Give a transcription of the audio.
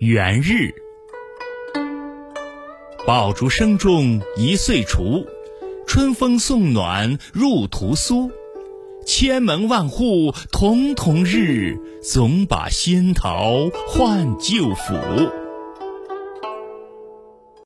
元日。爆竹声中一岁除，春风送暖入屠苏。千门万户曈曈日，总把仙桃换旧符。